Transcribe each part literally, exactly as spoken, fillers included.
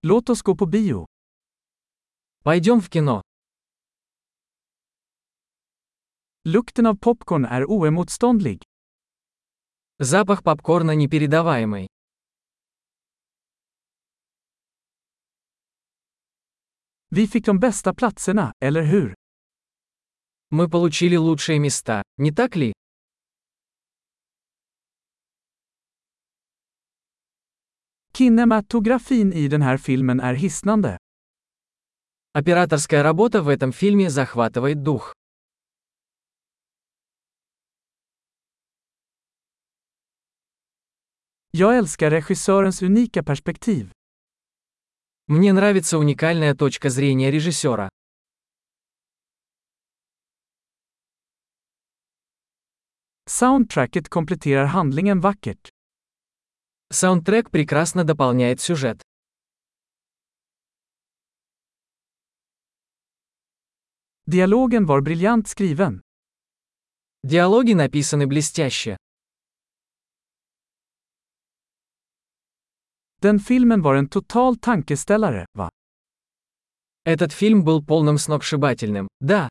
Låt oss gå på bio. Пойдем в кино. Lukten av popcorn är oemotståndlig. Запах попкорна непередаваемый. Vi fick de bästa platserna, eller hur? Мы получили лучшие места, не так ли? Kinematografin i den här filmen är hisnande. Операторская работа в этом фильме захватывает дух. Jag älskar regissörens unika perspektiv. Мне нравится уникальная точка зрения режиссера. Soundtracket kompletterar handlingen vackert. Саундтрек прекрасно дополняет сюжет. Dialogen var briljant skriven. Диалоги написаны блестяще. Den filmen var en total tankeställare, va? Этот фильм был полным сногсшибательным, да.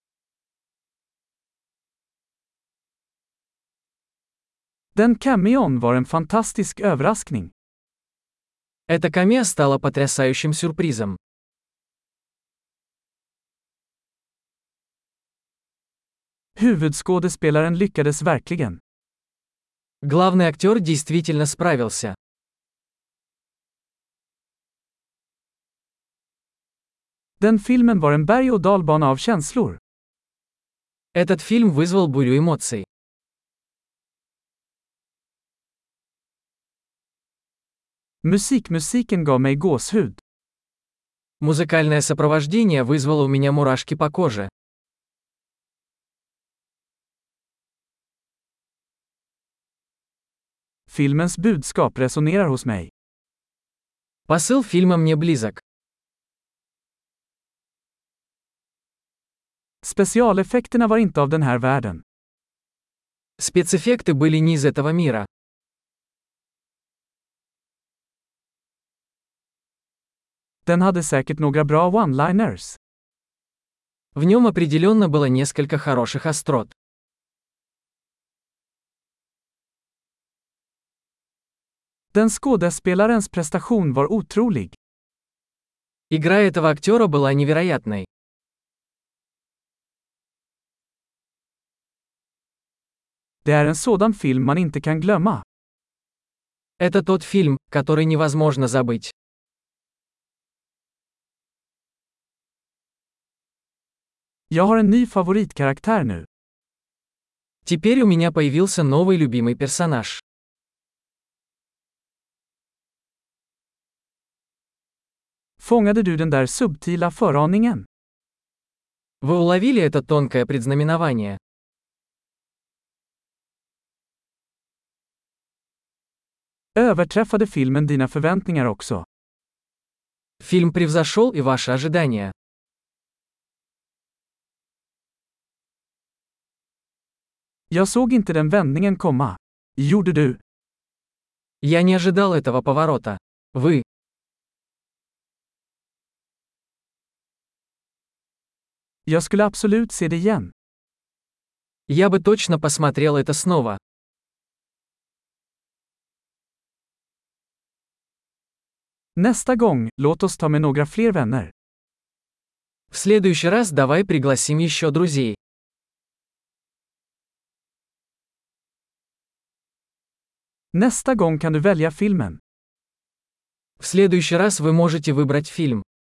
Den cameon var en fantastisk överraskning. Эта камео стала потрясающим сюрпризом. Huvudskådespelaren lyckades verkligen. Главный актер действительно справился. Den filmen var en berg- och dalbana av känslor. Этот фильм вызвал бурю эмоций. Musikmusiken gav mig gåshud. Музыкальное сопровождение вызвало у меня мурашки по коже. Filmens budskap resonerar hos mig. Посыл фильма мне близок. Specialeffekterna var inte av den här världen. Спецэффекты были не из этого мира. Den hade säkert några bra one-liners. В нем определенно было несколько хороших острот. Den skådespelarens prestation var otrolig. Игра этого актера была невероятной. Det är en sådan film man inte kan glömma. Это тот фильм, который невозможно забыть. Jag har en ny favoritkaraktär nu. Теперь у меня появился новый любимый персонаж. Fångade du den där subtila föraningen? Вы уловили это тонкое предзнаменование? Överträffade filmen dina förväntningar också? Фильм превзошел и ваши ожидания. Jag såg inte den vändningen komma. Gjorde du? Я не ожидал этого поворота. Вы? Jag skulle absolut se det igen. Я бы точно посмотрел это снова. Nästa gång, låt oss ta med några fler vänner. В следующий раз давай пригласим еще друзей. Nästa gång kan du välja filmen. В следующий раз вы можете выбрать фильм.